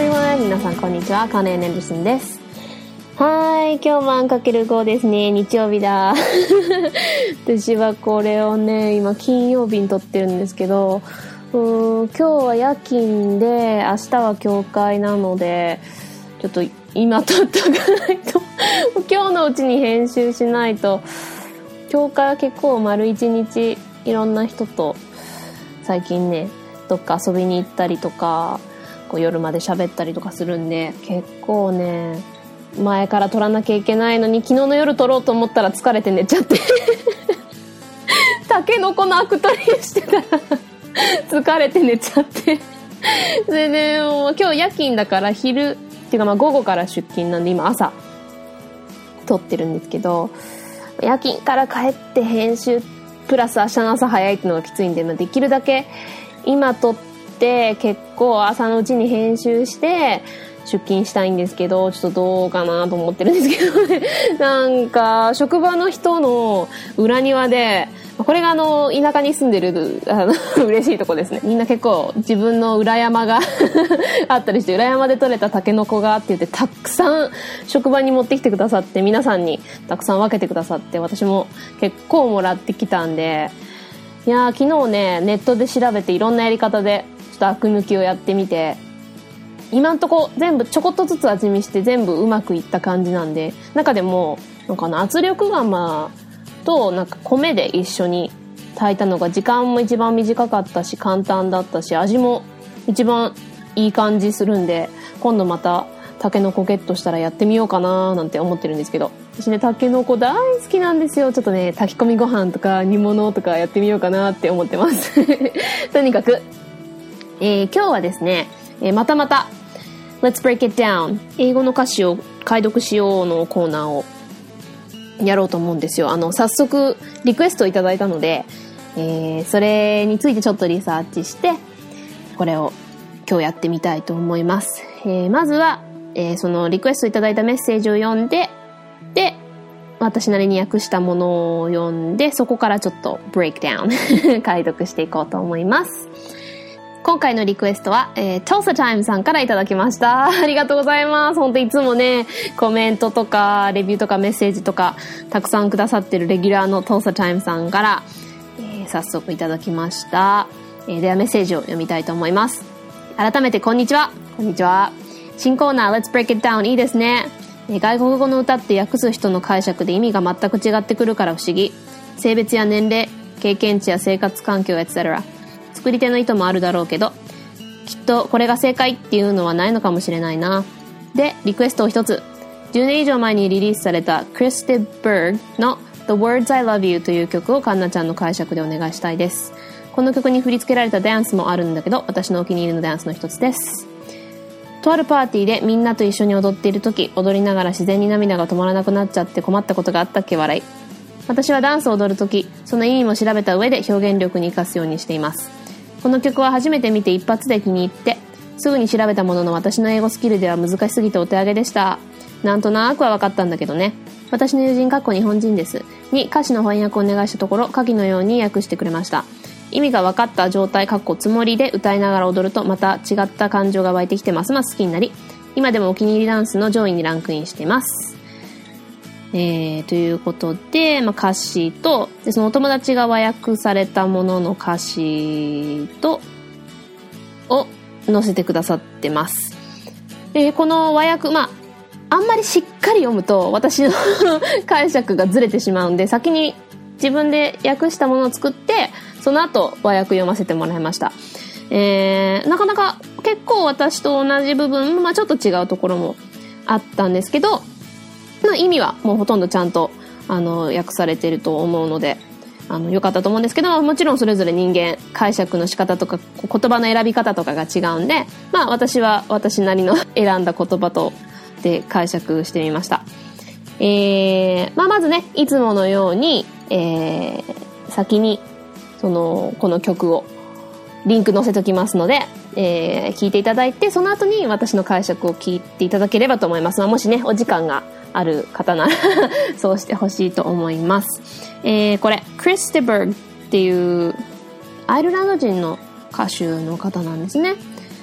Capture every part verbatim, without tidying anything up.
everyone! 皆さんこんにちは。カーネン・エンダーソンです。はい、今日は かけるご ですね。日曜日だ。私はこれをね、今金曜日に撮ってるんですけど、うーん、今日は夜勤で、明日は教会なので、ちょっと今撮っとかないと、今日のうちに編集しないと、教会は結構丸一日いろんな人と最近ね、どっか遊びに行ったりとか、こう夜まで喋ったりとかするんで、結構ね、前から撮らなきゃいけないのに、昨日の夜撮ろうと思ったら疲れて寝ちゃってタケノコのアク取りしてたら疲れて寝ちゃってでね、もう今日夜勤だから昼っていうかまあ午後から出勤なんで、今朝撮ってるんですけど、夜勤から帰って編集プラス明日の朝早いっていうのがきついんで、まあ、できるだけ今撮って結構朝のうちに編集して出勤したいんですけど、ちょっとどうかなと思ってるんですけどね。なんか職場の人の裏庭で、これがあの田舎に住んでるあの嬉しいとこですね。みんな結構自分の裏山があったりして、裏山で採れたタケノコがって言ってたくさん職場に持ってきてくださって、皆さんにたくさん分けてくださって、私も結構もらってきたんで、いやー昨日ねネットで調べていろんなやり方でちょっとアク抜きをやってみて、今んとこ全部ちょこっとずつ味見して全部うまくいった感じなんで、中でもなんかな圧力釜となんか米で一緒に炊いたのが時間も一番短かったし簡単だったし、味も一番いい感じするんで、今度またタケノコゲットしたらやってみようかななんて思ってるんですけど、私ねタケノコ大好きなんですよ。ちょっとね炊き込みご飯とか煮物とかやってみようかなって思ってますとにかく、えー、今日はですね、えー、またまたLet's break it down 英語の歌詞を解読しようのコーナーをやろうと思うんですよ。あの早速リクエストをいただいたので、えー、それについてちょっとリサーチしてこれを今日やってみたいと思います。えー、まずは、えー、そのリクエストいただいたメッセージを読んで、で私なりに訳したものを読んで、そこからちょっとブレイクダウン解読していこうと思います。今回のリクエストは、えー、Tulsa Time さんからいただきました。ありがとうございます。本当いつもね、コメントとか、レビューとかメッセージとか、たくさんくださってるレギュラーの Tulsa Time さんから、えー、早速いただきました。えー、ではメッセージを読みたいと思います。改めてこんにちは。こんにちは。新コーナー Let's Break It Down いいですね。えー、外国語の歌って訳す人の解釈で意味が全く違ってくるから不思議。性別や年齢、経験値や生活環境 エトセトラ作り手の意図もあるだろうけど、きっとこれが正解っていうのはないのかもしれないな。で、リクエストを一つ。じゅうねん以上前にリリースされたクリスティ・バーグの The Words I Love You という曲をカンナちゃんの解釈でお願いしたいです。この曲に振り付けられたダンスもあるんだけど、私のお気に入りのダンスの一つです。とあるパーティーでみんなと一緒に踊っている時、踊りながら自然に涙が止まらなくなっちゃって困ったことがあったっけ笑い。私はダンスを踊る時、その意味も調べた上で表現力に活かすようにしています。この曲は初めて見て一発で気に入ってすぐに調べたものの、私の英語スキルでは難しすぎてお手上げでした。なんとなくは分かったんだけどね。私の友人かっこ日本人ですに歌詞の翻訳をお願いしたところ、下記のように訳してくれました。意味が分かった状態かっこつもりで歌いながら踊るとまた違った感情が湧いてきてますます好きになり、今でもお気に入りダンスの上位にランクインしています。えー、ということで、まあ、歌詞とでそのお友達が和訳されたものの歌詞とを載せてくださってます。でこの和訳、まああんまりしっかり読むと私の解釈がずれてしまうんで、先に自分で訳したものを作ってその後和訳読ませてもらいました。えー、なかなか結構私と同じ部分、まあ、ちょっと違うところもあったんですけど、の意味はもうほとんどちゃんとあの訳されていると思うので、あの良かったと思うんですけど、もちろんそれぞれ人間解釈の仕方とか言葉の選び方とかが違うんで、まあ私は私なりの選んだ言葉とで解釈してみました。えーまあ、まずねいつものように、えー、先にそのこの曲をリンク載せときますので、えー、聞いていただいて、その後に私の解釈を聞いていただければと思います。もしねお時間がある方ならそうしてほしいと思います。えー、これクリスティバーグっていうアイルランド人の歌手の方なんですね。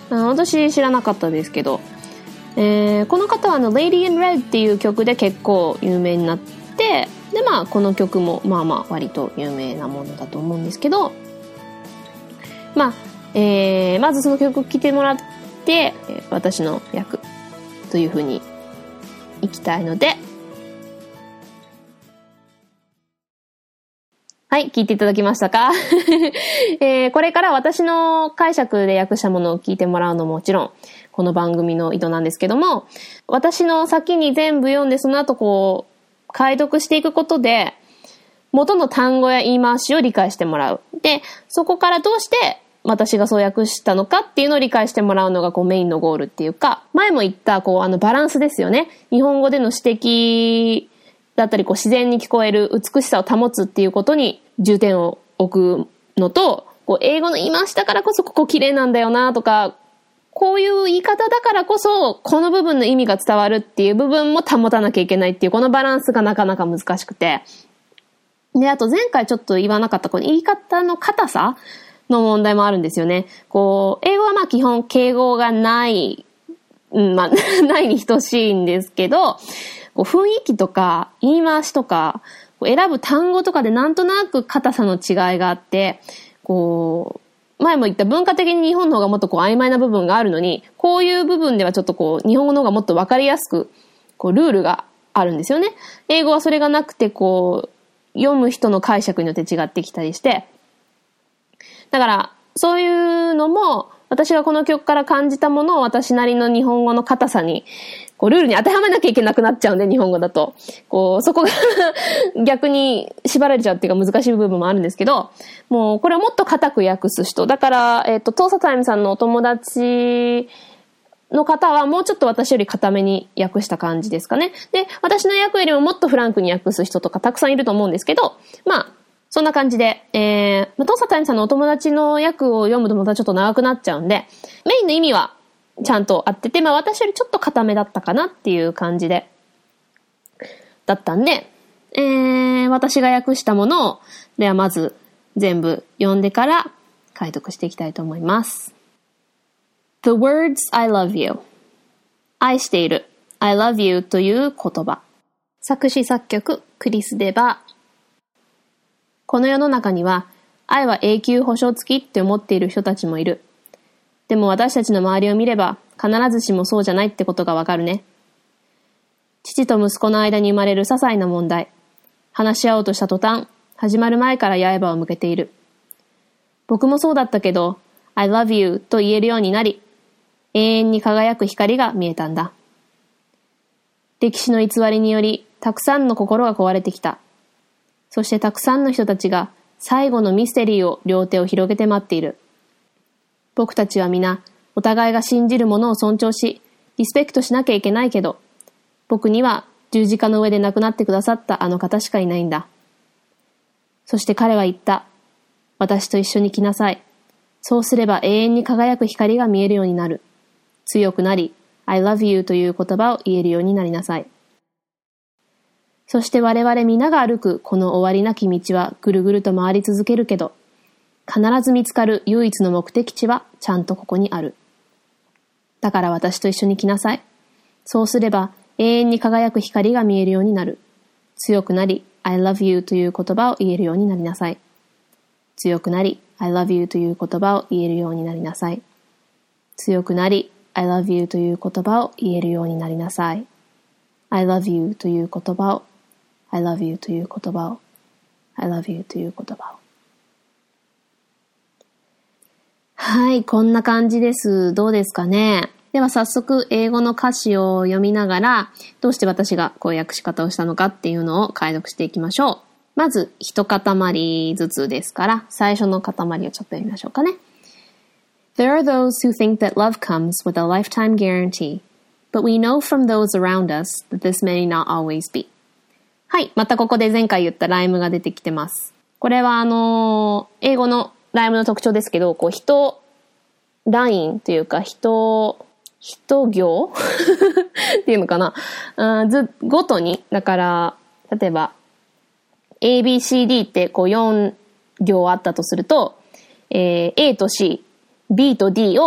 私知らなかったですけど、えー、この方はあの Lady in Red っていう曲で結構有名になって、でまあこの曲もまあまあ割と有名なものだと思うんですけど、まあ、えー、まずその曲聴いてもらって、私の役という風にいきたいので、はい、聞いていただきましたか、えー、これから私の解釈で訳したものを聞いてもらうのももちろんこの番組の意図なんですけども、私の先に全部読んでその後こう解読していくことで元の単語や言い回しを理解してもらう。で、そこからどうして私がそう訳したのかっていうのを理解してもらうのがこうメインのゴールっていうか、前も言ったこうあのバランスですよね。日本語での指摘だったりこう自然に聞こえる美しさを保つっていうことに重点を置くのと、こう英語の言い回しだからこそここ綺麗なんだよなとか、こういう言い方だからこそこの部分の意味が伝わるっていう部分も保たなきゃいけないっていうこのバランスがなかなか難しくて。で、あと前回ちょっと言わなかったこの言い方の硬さの問題もあるんですよね。こう、英語はまあ基本敬語がない、うん、まあないに等しいんですけど、こう雰囲気とか言い回しとか選ぶ単語とかでなんとなく硬さの違いがあって、こう前も言った文化的に日本の方がもっとこう曖昧な部分があるのに、こういう部分ではちょっとこう日本語の方がもっと分かりやすくこうルールがあるんですよね。英語はそれがなくてこう読む人の解釈によって違ってきたりして、だからそういうのも私がこの曲から感じたものを私なりの日本語の硬さにこうルールに当てはめなきゃいけなくなっちゃうんで、日本語だとこうそこが逆に縛られちゃうっていうか難しい部分もあるんですけど、もうこれをもっと硬く訳す人だから、えっとトーサタイムさんのお友達の方はもうちょっと私より硬めに訳した感じですかね。で、私の訳よりももっとフランクに訳す人とかたくさんいると思うんですけど、まあそんな感じで、えー、トーサタイムさんのお友達の訳を読むとまたちょっと長くなっちゃうんで、メインの意味はちゃんと合ってて、まあ私よりちょっと硬めだったかなっていう感じで、だったんで、えー、私が訳したものを、ではまず全部読んでから解読していきたいと思います。The words I love you 愛している I love you という言葉。作詞作曲クリス・デバー。この世の中には愛は永久保証付きって思っている人たちもいる。でも私たちの周りを見れば必ずしもそうじゃないってことがわかるね。父と息子の間に生まれる些細な問題。話し合おうとした途端、始まる前から刃を向けている。僕もそうだったけど、I love you と言えるようになり、永遠に輝く光が見えたんだ。歴史の偽りにより、たくさんの心が壊れてきた。そしてたくさんの人たちが最後のミステリーを両手を広げて待っている。僕たちは皆、お互いが信じるものを尊重し、リスペクトしなきゃいけないけど、僕には十字架の上で亡くなってくださったあの方しかいないんだ。そして彼は言った。私と一緒に来なさい。そうすれば永遠に輝く光が見えるようになる。強くなり、I love you という言葉を言えるようになりなさい。そして我々皆が歩くこの終わりなき道はぐるぐると回り続けるけど、必ず見つかる唯一の目的地はちゃんとここにある。だから私と一緒に来なさい。そうすれば永遠に輝く光が見えるようになる。強くなり、I love you という言葉を言えるようになりなさい。強くなり、I love you という言葉を言えるようになりなさい。強くなり、I love you という言葉を言えるようになりなさい。I love you という言葉を、I love you という言葉を、I love you という言葉を。はい、こんな感じです。どうですかね。では早速英語の歌詞を読みながら、どうして私がこういう訳し方をしたのかっていうのを解読していきましょう。まず一塊ずつですから、最初の塊をちょっと読みましょうかね。There are those who think that love comes with a lifetime guarantee, but we know from those around us that this may not always be. はい、またここで前回言ったライムが出てきてます。これはあのー、英語のライムの特徴ですけど、こう人ラインというか人人行っていうのかな、あずごとに、だから例えば A B C D ってこうよん行あったとすると、えー、A と C、B と D を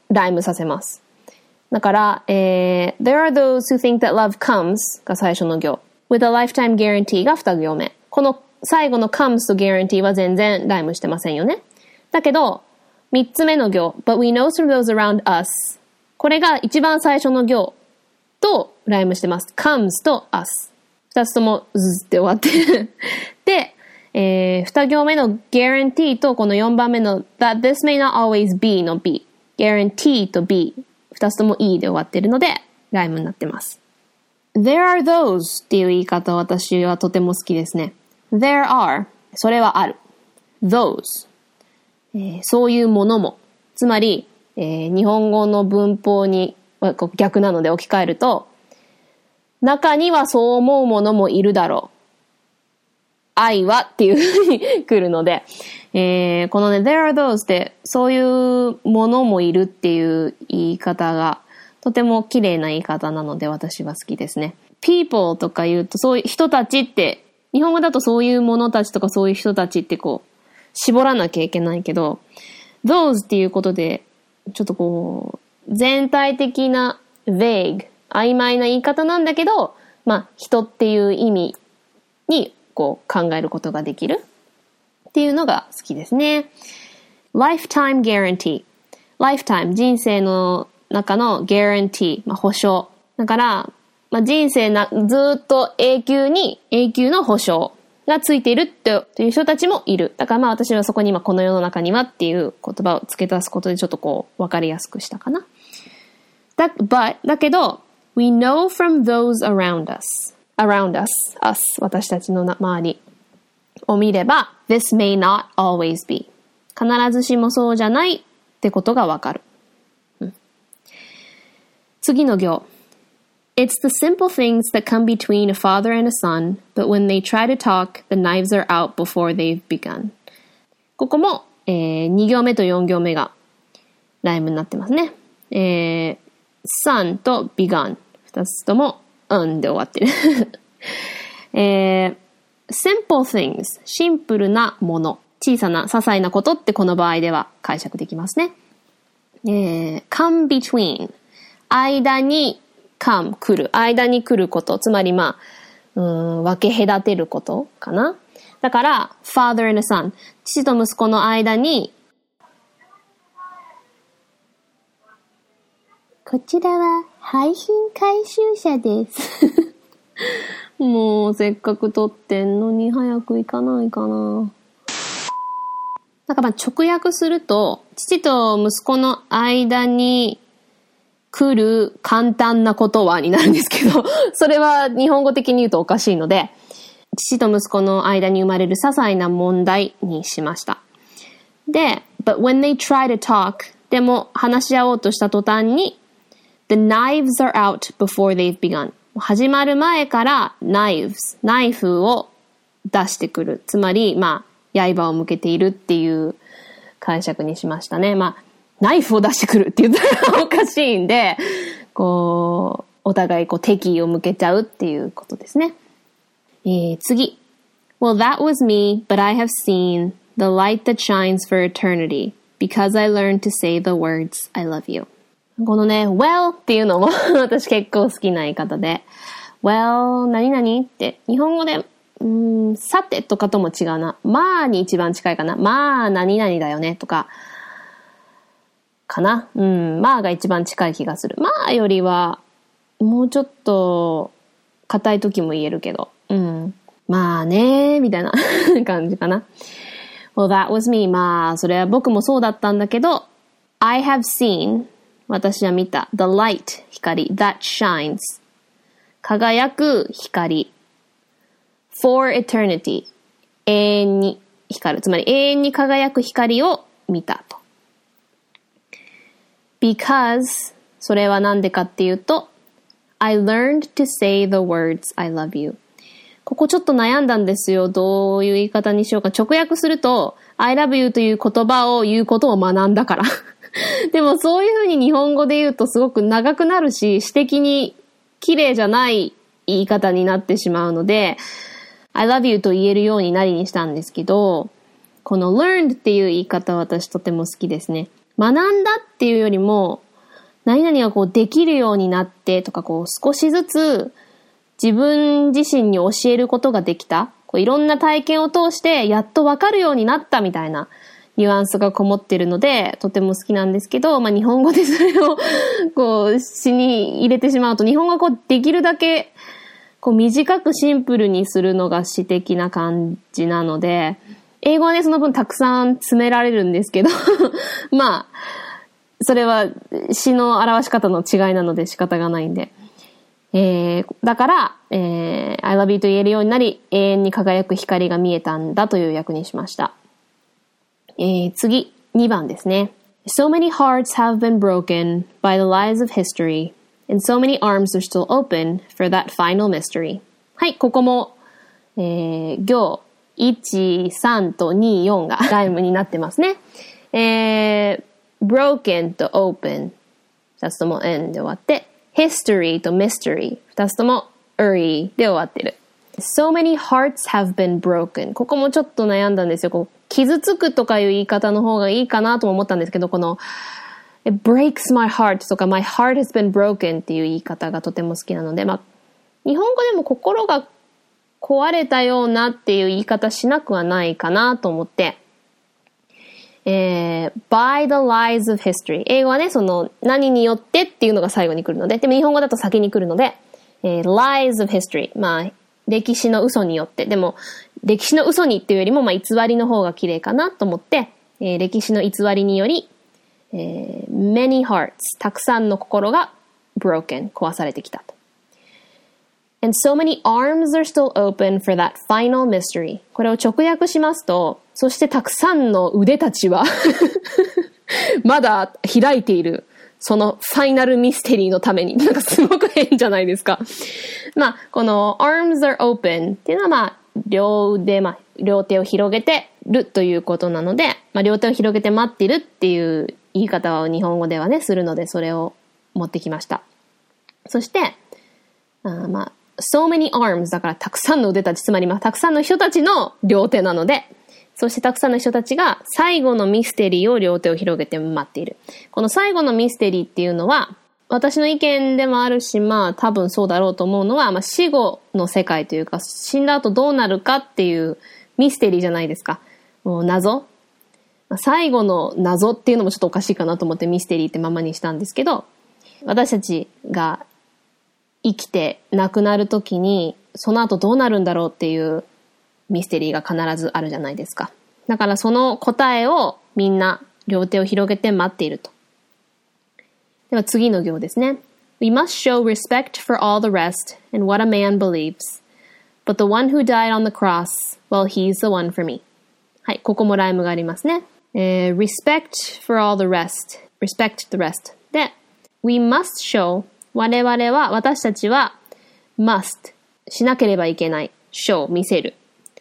ライムさせます。だから、えー、There are those who think that love comes が最初の行。with a lifetime guarantee が二行目。この最後の comes と guarantee は全然ライムしてませんよね。だけど、三つ目の行。But we know from those around us。これが一番最初の行とライムしてます。comes と us。二つともずって終わってる。で、えー、二行目の guarantee とこの四番目の that this may not always be の B。guarantee と B。二つとも E で終わってるので、ライムになってます。There are those っていう言い方は私はとても好きですね。There are それはある。Those、えー、そういうものも。つまり、えー、日本語の文法に逆なので置き換えると、中にはそう思うものもいるだろう。愛はっていう風に来るので、えー、このね、there are those ってそういうものもいるっていう言い方がとても綺麗な言い方なので私は好きですね。people とか言うとそういう人たちって、日本語だとそういうものたちとかそういう人たちってこう絞らなきゃいけないけど、those っていうことでちょっとこう全体的な vague 曖昧な言い方なんだけど、まあ人っていう意味にこう考えることができるっていうのが好きですね。lifetime guarantee。lifetime、人生の中の guarantee、まあ、保証。だから、まあ、人生な、ずっと永久に、永久の保証がついているってという人たちもいる。だからまあ私はそこに今この世の中にはっていう言葉を付け足すことでちょっとこう分かりやすくしたかな。だ、but、だけど、we know from those around us.around us, us, 私たちの周りを見れば this may not always be 必ずしもそうじゃないってことがわかる、うん、次の行 It's the simple things that come between a father and a son, but when they try to talk, the knives are out before they've begun ここも、えー、に行目とよん行目がライムになってますね、えー、son と begun 二つともうんで終わってる、えー、simple things シンプルなもの小さな些細なことってこの場合では解釈できますね、えー、come between 間に come 来る間に来ることつまりまあうーん分け隔てることかなだから father and son 父と息子の間にこちらは配信回収者ですもうせっかく撮ってんのに早く行かないかな。なんかまあ直訳すると父と息子の間に来る簡単なことはになるんですけどそれは日本語的に言うとおかしいので父と息子の間に生まれる些細な問題にしました。で But when they try to talk でも話し合おうとした途端にThe knives are out before they've begun. 始まる前から knives、ナイフを出してくる。つまり、まあ、刃を向けているっていう解釈にしましたね。まあ、ナイフを出してくるって言ったらおかしいんで、こう、お互いこう敵意を向けちゃうっていうことですね。えー、次。Well, that was me, but I have seen the light that shines for eternity because I learned to say the words, I love you.このね、well っていうのも私結構好きな言い方で well 何々って日本語でうーんさてとかとも違うなまあに一番近いかなまあ何々だよねとかかなうんまあが一番近い気がするまあよりはもうちょっと硬い時も言えるけどうんまあねみたいな感じかな Well that was me まあそれは僕もそうだったんだけど I have seen私は見た。The light, 光。That shines. 輝く光。For eternity. 永遠に光る。つまり永遠に輝く光を見たと。Because, それはなんでかっていうと、I learned to say the words I love you. ここちょっと悩んだんですよ。どういう言い方にしようか。直訳すると、I love you という言葉を言うことを学んだから。でもそういうふうに日本語で言うとすごく長くなるし、詩的に綺麗じゃない言い方になってしまうので、I love you と言えるようになりにしたんですけど、この learned っていう言い方は私とても好きですね。 学んだっていうよりも、何々がこうできるようになってとか、こう少しずつ自分自身に教えることができた。こういろんな体験を通してやっとわかるようになったみたいなニュアンスがこもってるので、とても好きなんですけど、まあ日本語でそれをこう詩に入れてしまうと、日本語がこうできるだけこう短くシンプルにするのが詩的な感じなので、英語はね、その分たくさん詰められるんですけど、まあ、それは詩の表し方の違いなので仕方がないんで。えー、だから、えー、I love you と言えるようになり、永遠に輝く光が見えたんだという訳にしました。えー、次、にばんですね。So many hearts have been broken by the lies of history, and so many arms are still open for that final mystery. はい、ここも、えー、行いち、さんとに、よんがライムになってますね。えー、broken と open、二つとも n で終わって、history と mystery、二つとも uri で終わってる。So many hearts have been broken。ここもちょっと悩んだんですよ。こう傷つくとかいう言い方の方がいいかなとも思ったんですけど、この It breaks my heart とか My heart has been broken っていう言い方がとても好きなので、まあ、日本語でも心が壊れたようなっていう言い方しなくはないかなと思って、えー、by the lies of history。英語はね、その何によってっていうのが最後に来るので、でも日本語だと先に来るので、えー、lies of history。まあ、歴史の嘘によって。でも、歴史の嘘にっていうよりも、まあ、偽りの方が綺麗かなと思って、えー、歴史の偽りにより、えー、many hearts。たくさんの心が broken。壊されてきたと。And so many arms are still open for that final mystery. これを直訳しますと、そしてたくさんの腕たちはまだ開いている。そのファイナルミステリーのために。なんかすごく変じゃないですか。まあ、この arms are open っていうのはまあ、両腕、まあ、両手を広げてるということなので、まあ、両手を広げて待ってるっていう言い方を日本語ではね、するので、それを持ってきました。そして、あまあ、so many arms だからたくさんの腕たち、つまりまあたくさんの人たちの両手なので、そしてたくさんの人たちが最後のミステリーを両手を広げて待っている。この最後のミステリーっていうのは、私の意見でもあるし、まあ多分そうだろうと思うのは、まあ死後の世界というか、死んだ後どうなるかっていうミステリーじゃないですか。もう謎。最後の謎っていうのもちょっとおかしいかなと思ってミステリーってままにしたんですけど、私たちが生きて亡くなるときにその後どうなるんだろうっていうミステリーが必ずあるじゃないですか。だからその答えをみんな両手を広げて待っていると。では次の行ですね。We must show respect for all the rest and what a man believes. But the one who died on the cross, well, he's the one for me. はい、ここもライムがありますね。えー、respect for all the rest. respect the rest. で、we must show我々は、私たちは must しなければいけない show 見せる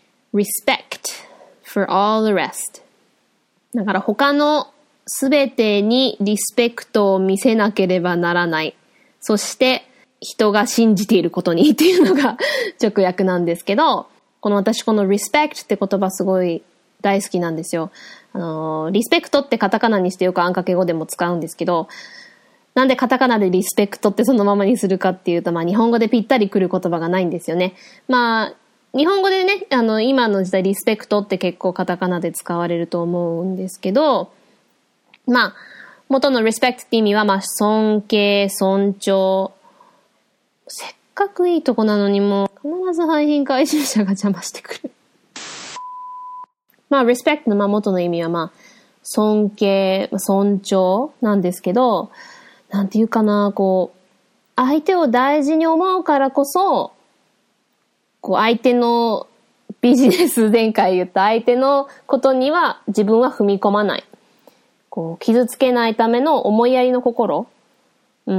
respect for all the rest だから他のすべてにリスペクトを見せなければならない。そして人が信じていることにっていうのが直訳なんですけど、この私この respect って言葉すごい大好きなんですよ。あの、リスペクトってカタカナにしてよくあんかけ語でも使うんですけど、なんでカタカナでリスペクトってそのままにするかっていうと、まあ日本語でぴったりくる言葉がないんですよね。まあ、日本語でね、あの、今の時代リスペクトって結構カタカナで使われると思うんですけど、まあ、元の respect って意味は、まあ、尊敬、尊重。せっかくいいとこなのにもう、必ず廃品回収者が邪魔してくる。まあ、respect のまあ元の意味は、まあ、尊敬、尊重なんですけど、なんていうかな、こう、相手を大事に思うからこそ、こう、相手のビジネス、前回言った相手のことには自分は踏み込まない。こう、傷つけないための思いやりの心。うん。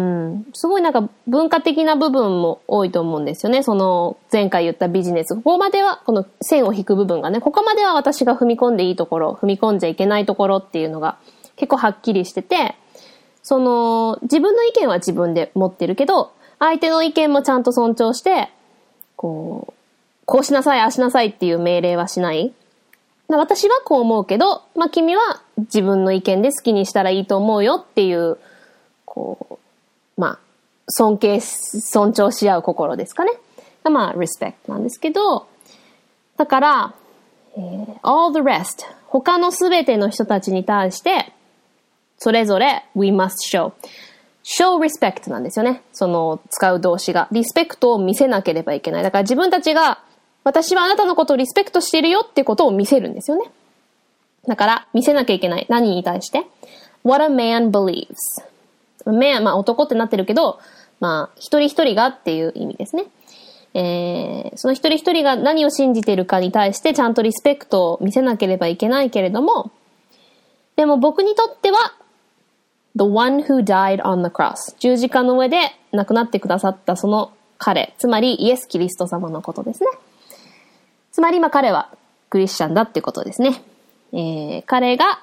すごいなんか文化的な部分も多いと思うんですよね。その、前回言ったビジネス。ここまでは、この線を引く部分がね、ここまでは私が踏み込んでいいところ、踏み込んじゃいけないところっていうのが結構はっきりしてて、その、自分の意見は自分で持ってるけど、相手の意見もちゃんと尊重して、こう、こうしなさい、ああしなさいっていう命令はしない。私はこう思うけど、まあ君は自分の意見で好きにしたらいいと思うよっていう、こう、まあ、尊敬、尊重し合う心ですかね。がまあ、respect なんですけど、だから、えー、all the rest、他のすべての人たちに対して、それぞれ we must show。show respect なんですよね。その使う動詞が。リスペクトを見せなければいけない。だから自分たちが、私はあなたのことをリスペクトしているよってことを見せるんですよね。だから、見せなきゃいけない。何に対して ?What a man believes。man、まあ男ってなってるけど、まあ一人一人がっていう意味ですね。えー、その一人一人が何を信じているかに対してちゃんとリスペクトを見せなければいけないけれども、でも僕にとっては、The one who died on the cross。十字架の上で亡くなってくださったその彼、つまりイエス・キリスト様のことですね。つまり今彼はクリスチャンだってことですね。えー、彼が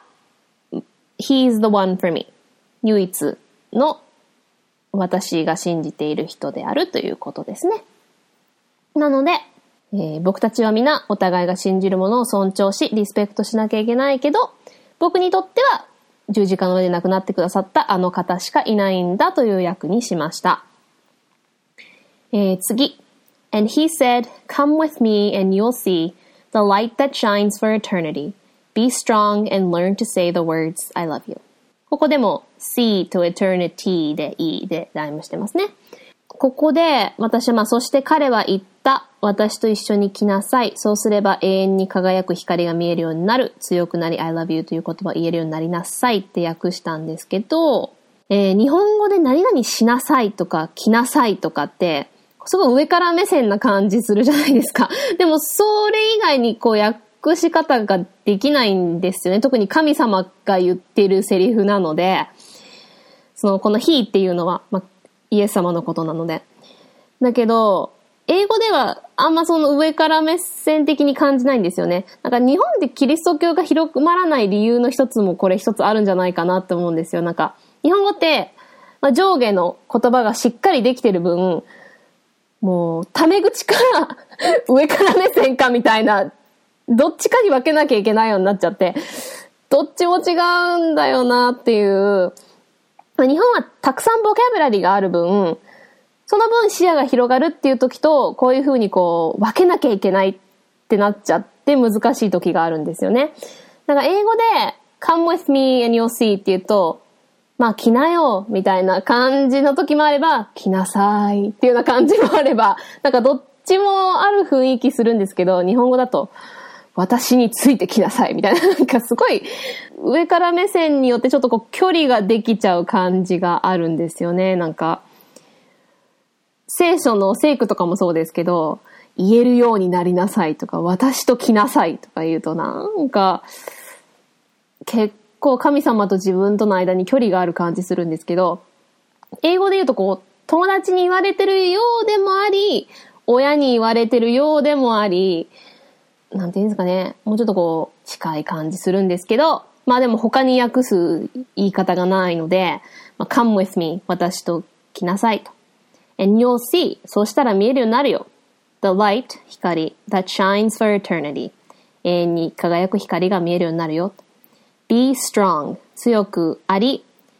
He's the one for me。唯一の私が信じている人であるということですね。なので、えー、僕たちは皆お互いが信じるものを尊重し、リスペクトしなきゃいけないけど、僕にとっては十字架の上で亡くなってくださったあの方しかいないんだという訳にしました。えー、次。And he said, Come with me and you'll see the light that shines for eternity. Be strong and learn to say the words, I love you. ここでも see と eternity でいいでライムしてますね。ここで私はまあそして彼は言った。私と一緒に来なさい。そうすれば永遠に輝く光が見えるようになる。強くなり I love you という言葉を言えるようになりなさいって訳したんですけど、えー、日本語で何々しなさいとか来なさいとかってすごい上から目線な感じするじゃないですか。でもそれ以外にこう訳し方ができないんですよね。特に神様が言ってるセリフなので、そのこの He っていうのは、まあ、イエス様のことなので。だけど、英語ではあんまその上から目線的に感じないんですよね。なんか日本でキリスト教が広まらない理由の一つもこれ一つあるんじゃないかなって思うんですよ。なんか日本語って、まあ、上下の言葉がしっかりできてる分、もうタメ口から上から目線かみたいな、どっちかに分けなきゃいけないようになっちゃって、どっちも違うんだよなっていう。日本はたくさんボキャブラリーがある分、その分視野が広がるっていう時と、こういう風にこう分けなきゃいけないってなっちゃって難しい時があるんですよね。だから英語で come with me and you'll see って言うと、まあ来なよみたいな感じの時もあれば、来なさいっていうような感じもあれば、なんかどっちもある雰囲気するんですけど、日本語だと私についてきなさいみたいな、なんかすごい上から目線によってちょっとこう距離ができちゃう感じがあるんですよね。なんか聖書の聖句とかもそうですけど、言えるようになりなさいとか、私と来なさいとか言うとなんか結構神様と自分との間に距離がある感じするんですけど、英語で言うとこう友達に言われてるようでもあり、親に言われてるようでもあり、なんていうんですかね、もうちょっとこう近い感じするんですけど、まあでも他に訳す言い方がないので、まあ、come with me 私と来なさいと。And you'll see そうしたら見えるようになるよ。The light 光 that shines for eternity 永遠に輝く光が見えるようになるよ。Be strong 強くあり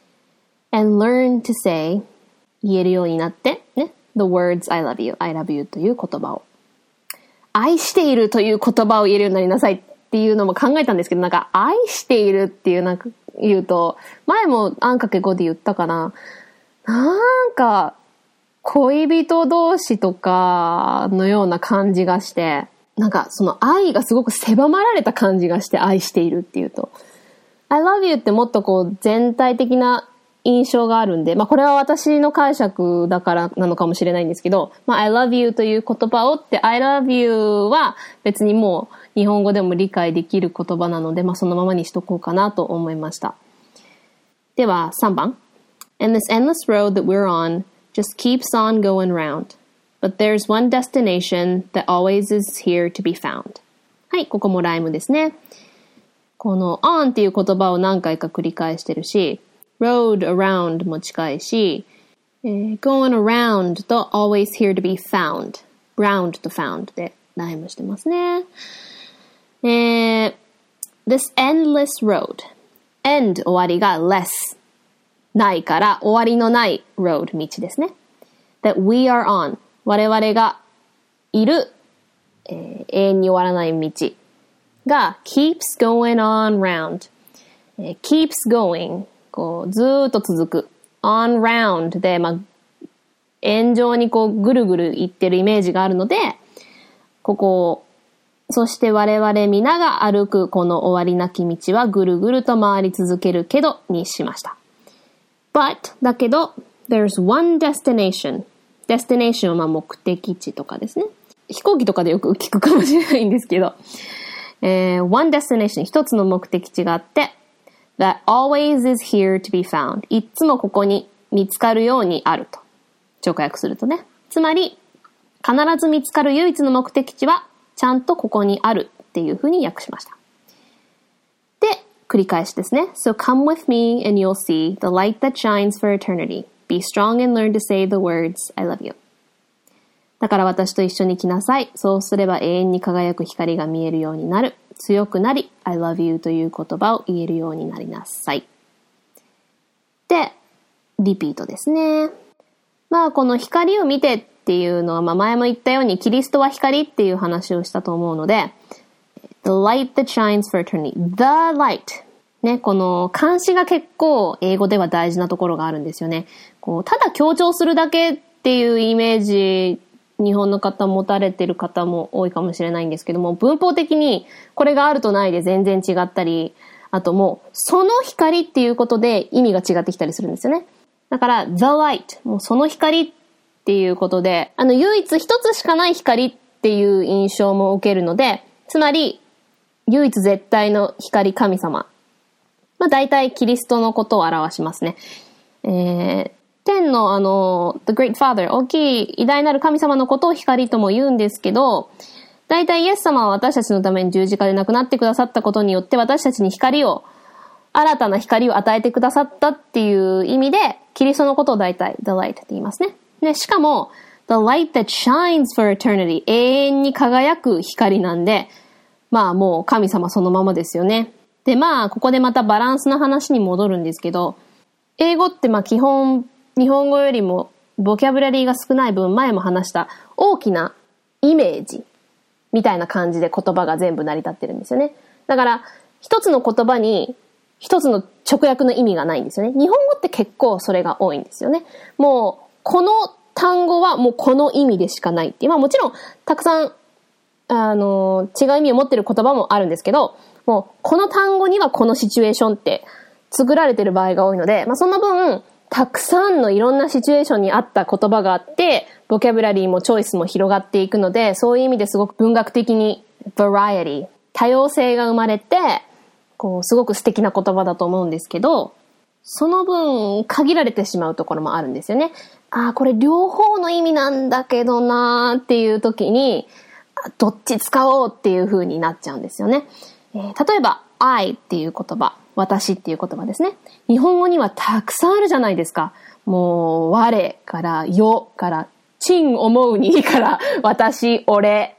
and learn to say 言えるようになってね。The words I love you I love you という言葉を愛しているという言葉を言えるようになりなさいっていうのも考えたんですけど、なんか愛しているっていうなんか言うと、前もあんかけごで言ったかな。なんか恋人同士とかのような感じがして、なんかその愛がすごく狭まられた感じがして愛しているっていうと。I love you ってもっとこう全体的な印象があるんで、まあこれは私の解釈だからなのかもしれないんですけど、まあ I love you という言葉をって I love you は別にもう日本語でも理解できる言葉なので、まあそのままにしとこうかなと思いました。ではさんばん。And this endless road that we're on just keeps on going round. But there's one destination that always is here to be found. はい、ここもライムですね。この on っていう言葉を何回か繰り返してるし、road around も近いし、えー、going around と always here to be found round と found でライムしてますね。えー、this endless road end 終わりが less ないから終わりのない road 道ですね。that we are on 我々がいる、えー、永遠に終わらない道が keeps going on round、えー、keeps going こうずーっと続く on round で、まあ、円状にこうぐるぐるいってるイメージがあるのでここをそして我々皆が歩くこの終わりなき道はぐるぐると回り続けるけどにしました。But だけど there's one destination destination はまあ目的地とかですね。飛行機とかでよく聞くかもしれないんですけど、えー、one destination 一つの目的地があって that always is here to be found いつもここに見つかるようにあると直訳するとね。つまり必ず見つかる唯一の目的地はちゃんとここにあるっていう風に訳しました。で、繰り返しですね。So come with me and you'll see the light that shines for eternity. Be strong and learn to say the words, I love you. だから私と一緒に来なさい。そうすれば永遠に輝く光が見えるようになる。強くなり、I love you という言葉を言えるようになりなさい。で、リピートですね。まあこの光を見てっていうのは、まあ前も言ったようにキリストは光っていう話をしたと思うので、The light that shines for eternity. The light. ね、この漢詞が結構英語では大事なところがあるんですよね。こうただ強調するだけっていうイメージ、日本の方持たれてる方も多いかもしれないんですけども、文法的にこれがあるとないで全然違ったり、あともうその光っていうことで意味が違ってきたりするんですよね。だから The light もうその光っていうことで、あの唯一一つしかない光っていう印象も受けるので、つまり唯一絶対の光神様、まあ大体キリストのことを表しますね。えー、天のあの The Great Father 大きい偉大なる神様のことを光とも言うんですけど、大体イエス様は私たちのために十字架で亡くなってくださったことによって私たちに光を新たな光を与えてくださったっていう意味でキリストのことを大体 The Light って言いますね。で、しかも The light that shines for eternity 永遠に輝く光なんで、まあもう神様そのままですよね。で、まあここでまたバランスの話に戻るんですけど、英語ってまあ基本日本語よりもボキャブラリーが少ない分、前も話した大きなイメージみたいな感じで言葉が全部成り立ってるんですよね。だから一つの言葉に一つの直訳の意味がないんですよね。日本語って結構それが多いんですよね。もうこの単語はもうこの意味でしかないっていう。まあもちろんたくさんあの違う意味を持ってる言葉もあるんですけど、もうこの単語にはこのシチュエーションって作られてる場合が多いので、まあその分たくさんのいろんなシチュエーションに合った言葉があって、ボキャブラリーもチョイスも広がっていくので、そういう意味ですごく文学的にバラエティ、多様性が生まれて、こうすごく素敵な言葉だと思うんですけど、その分限られてしまうところもあるんですよね。ああ、これ両方の意味なんだけどなーっていう時に、どっち使おうっていう風になっちゃうんですよね。えー、例えば I っていう言葉、私っていう言葉ですね。日本語にはたくさんあるじゃないですか。もう我からよからちん思うにから私、俺、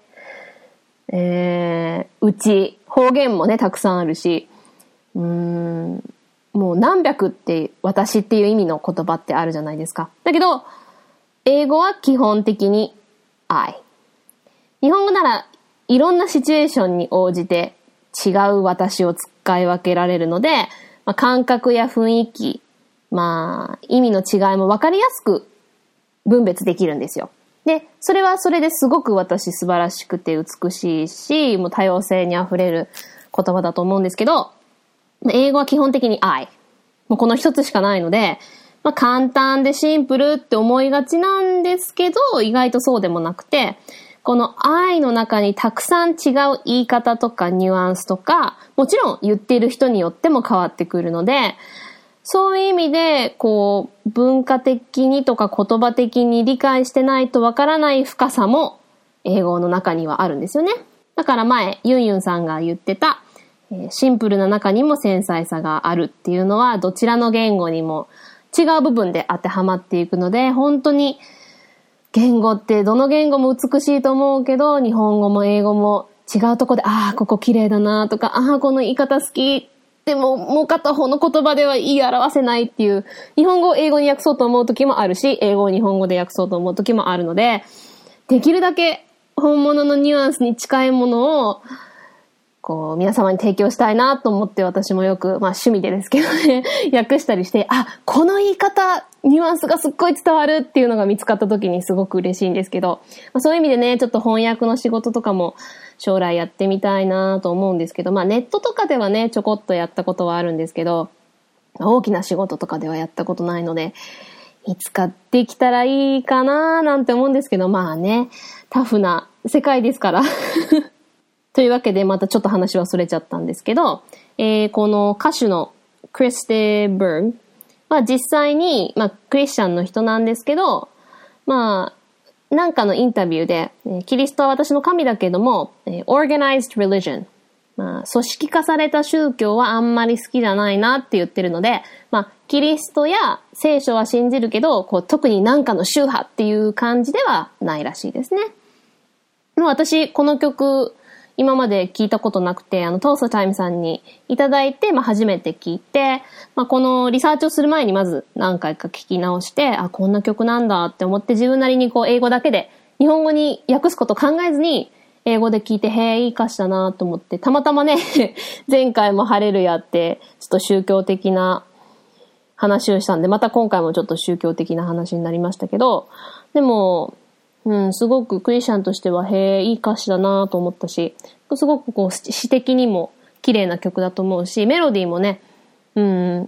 えー、うち、方言もねたくさんあるし、うーん、もう何百って私っていう意味の言葉ってあるじゃないですか。だけど英語は基本的に I。日本語ならいろんなシチュエーションに応じて違う私を使い分けられるので、まあ、感覚や雰囲気、まあ意味の違いも分かりやすく分別できるんですよ。で、それはそれですごく私素晴らしくて美しいし、もう多様性にあふれる言葉だと思うんですけど、英語は基本的に I。もうこの一つしかないので、まあ、簡単でシンプルって思いがちなんですけど、意外とそうでもなくて、この I の中にたくさん違う言い方とかニュアンスとか、もちろん言っている人によっても変わってくるので、そういう意味で、こう、文化的にとか言葉的に理解してないとわからない深さも英語の中にはあるんですよね。だから前、ユンユンさんが言ってた、シンプルな中にも繊細さがあるっていうのは、どちらの言語にも違う部分で当てはまっていくので、本当に言語ってどの言語も美しいと思うけど、日本語も英語も違うとこで、ああ、ここ綺麗だなとか、ああ、この言い方好きっでももう片方の言葉では言い表せないっていう、日本語を英語に訳そうと思う時もあるし、英語を日本語で訳そうと思う時もあるので、できるだけ本物のニュアンスに近いものをこう皆様に提供したいなと思って、私もよく、まあ趣味でですけどね、訳したりして、あ、この言い方、ニュアンスがすっごい伝わるっていうのが見つかった時にすごく嬉しいんですけど、まあ、そういう意味でね、ちょっと翻訳の仕事とかも将来やってみたいなと思うんですけど、まあネットとかではね、ちょこっとやったことはあるんですけど、大きな仕事とかではやったことないので、いつかできたらいいかななんて思うんですけど、まあね、タフな世界ですから。というわけで、またちょっと話はそれちゃったんですけど、えー、この歌手のクリステン・バーグは実際に、まあ、クリスチャンの人なんですけど、まあ、なんかのインタビューで、キリストは私の神だけども、organized religion、まあ、組織化された宗教はあんまり好きじゃないなって言ってるので、まあ、キリストや聖書は信じるけど、こう特になんかの宗派っていう感じではないらしいですね。もう私、この曲、今まで聞いたことなくて、あの、トーストタイムさんにいただいて、まあ、初めて聞いて、まあ、このリサーチをする前にまず何回か聞き直して、あ、こんな曲なんだって思って、自分なりにこう、英語だけで、日本語に訳すこと考えずに、英語で聞いて、へえ、いい歌詞だなと思って、たまたまね、前回もハレルヤって、ちょっと宗教的な話をしたんで、また今回もちょっと宗教的な話になりましたけど、でも、うん、すごくクリスチャンとしては、へえ、いい歌詞だなと思ったし、すごくこう、詩的にも綺麗な曲だと思うし、メロディーもね、うん、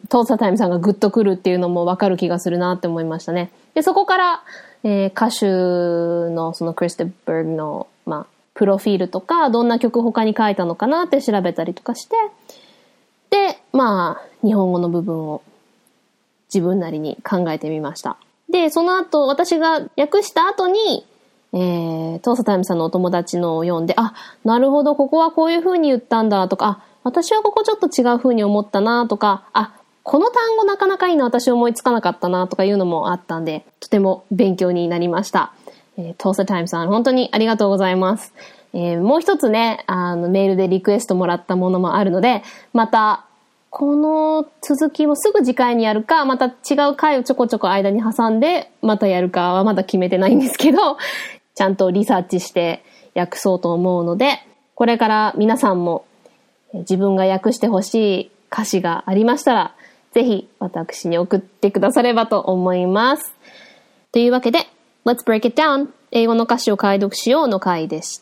トーサタイムさんがグッとくるっていうのもわかる気がするなって思いましたね。で、そこから、えー、歌手のそのクリステン・バーグの、まあ、プロフィールとか、どんな曲他に書いたのかなって調べたりとかして、で、まあ、日本語の部分を自分なりに考えてみました。で、その後、私が訳した後に、えー、トーサタイムさんのお友達のを読んで、あ、なるほど、ここはこういう風に言ったんだとか、あ、私はここちょっと違う風に思ったなとか、あ、この単語なかなかいいの私思いつかなかったなとかいうのもあったんで、とても勉強になりました。えー、トーサタイムさん、本当にありがとうございます。えー、もう一つね、あの、メールでリクエストもらったものもあるので、また、この続きもすぐ次回にやるか、また違う回をちょこちょこ間に挟んで、またやるかはまだ決めてないんですけど、ちゃんとリサーチして訳そうと思うので、これから皆さんも自分が訳してほしい歌詞がありましたら、ぜひ私に送ってくださればと思います。というわけで、Let's Break It Down! 英語の歌詞を解読しようの回でした。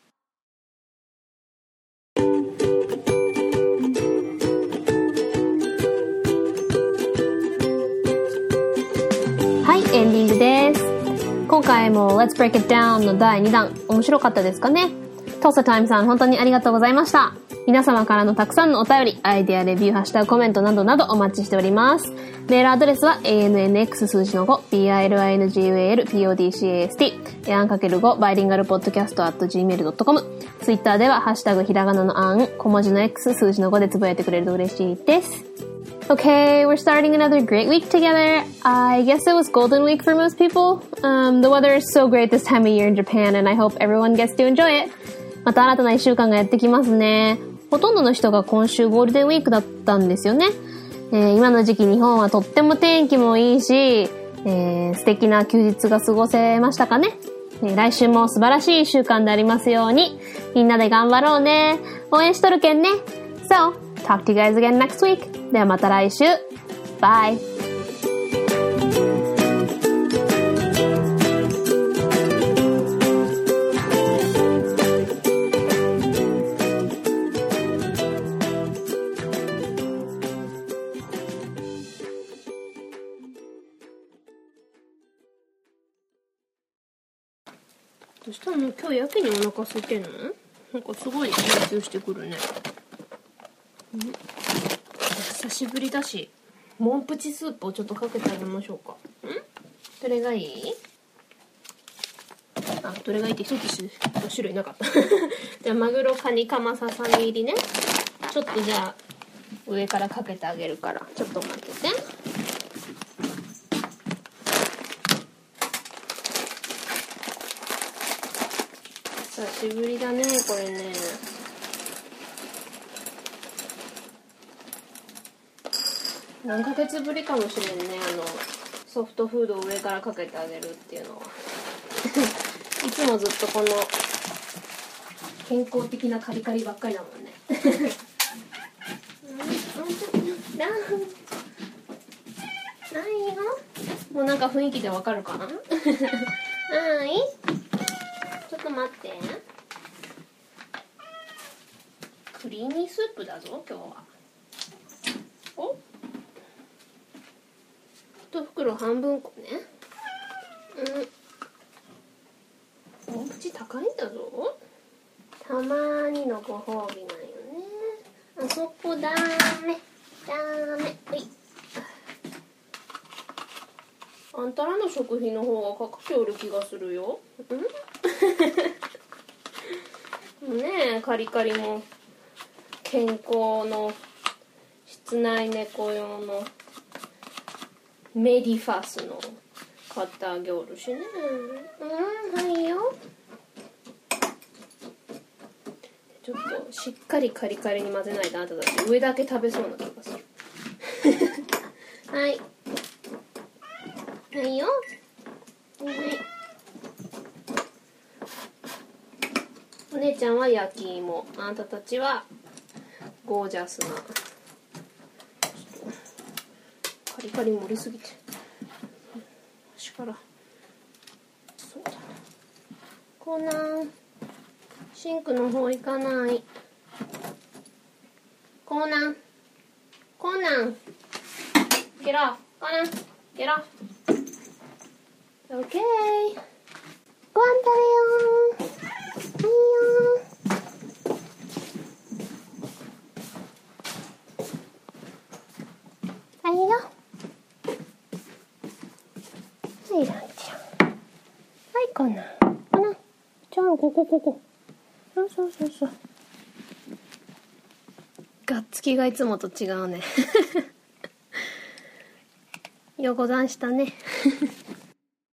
はい、エンディングです。今回も Let's Break It Down のだいにだん、面白かったですかね。トーサタイムさん、本当にありがとうございました。皆様からのたくさんのお便り、アイデア、レビュー、ハッシュタグ、コメントなどなどお待ちしております。メールアドレスは エーエヌエヌエックス 数字のご ビーアイエルアイエヌジーユーエーエルポッドキャスト アンかけるご バイリンガルポッドキャスト アットジーメールドットコム ツイッターではハッシュタグひらがなのあん、小文字の X 数字のごでつぶやいてくれると嬉しいです。Okay, we're starting another great week together. I guess it was Golden Week for most people. Um, the weather is so great this time of year in Japan, and I hope everyone gets to enjoy it. また新たな一週間がやってきますね。ほとんどの人が今週ゴールデンウィークだったんですよね。えー、今の時期日本はとっても天気もいいし、えー、素敵な休日が過ごせましたかね。えー、来週も素晴らしい一週間でありますように、みんなで頑張ろうね。応援しとるけんね。So, talk to you guys again next week. ではまた来週。Bye! どうしたの？今日やけにお腹空いてんの？なんかすごい集中してくるね。ん？久しぶりだし、モンプチスープをちょっとかけてあげましょうか。ん？どれがいい？あ、どれがいいって一つ種類なかった。じゃあマグロカニカマささみ入りね。ちょっとじゃあ上からかけてあげるから、ちょっと待ってて。久しぶりだね、これね。 何ヶ月ぶりかもしれんね、あのソフトフードを上からかけてあげるっていうのは。いつもずっとこの健康的なカリカリばっかりだもんね。ないよ。もうなんか雰囲気でわかるかな。はい。ちょっと待って。クリーミースープだぞ今日は。お。一袋半分こね。うん。大口高いんだぞ。たまーにのご褒美なんよね。あそこダメダメ。はい。あんたらの食費の方がかかっておる気がするよ。うんねえ、カリカリも健康の室内猫用のメディファスの買ってあげおるしね。うん、はいよ。ちょっとしっかりカリカリに混ぜないとあんただって上だけ食べそうな気がする。はい。はいよ。はい。お姉ちゃんは焼き芋、あんたたちはゴージャスな。カリカリ盛りすぎて。端から。そうだな。コナン。シンクの方行かない。コーナン。コーナン。ゲロ。コーナン。ゲロ。オッケー。ご飯食べよう。はいよ。はいよ。はい、ランちゃん。はい、コーナン。コーナン。じゃあ、ここ、ここ。そうそうそうそう。がっつきがいつもと違うね。よござんしたね。